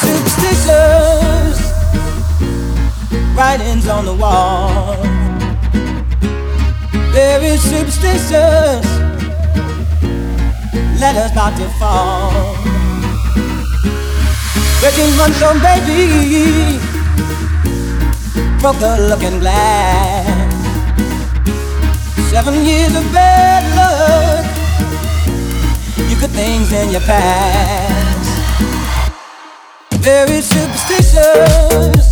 superstitious writings on the wall. Very superstitious letters about to fall. 13-month old baby broke the looking glass. 7 years of bad luck. You good things in your past. Very superstitious.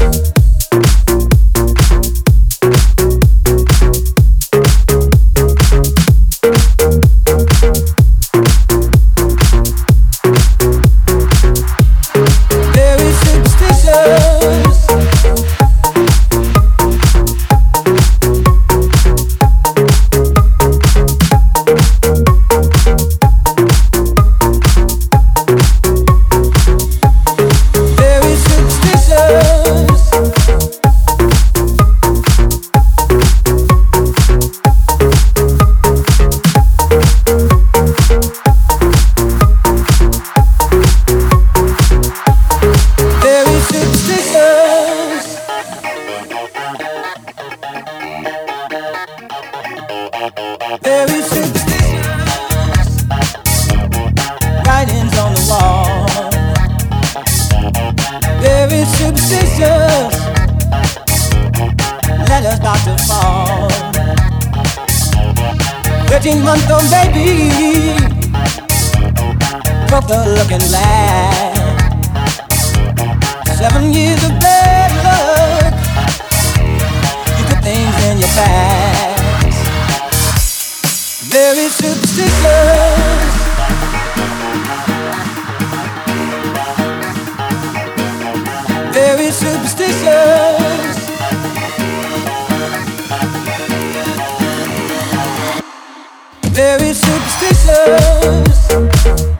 Very superstitious writings on the wall. Very superstitious letters about to fall. 13-month old baby broke the looking glass. 7 years of bad luck. You put things in your past. Very superstitious. Very superstitious. Very superstitious.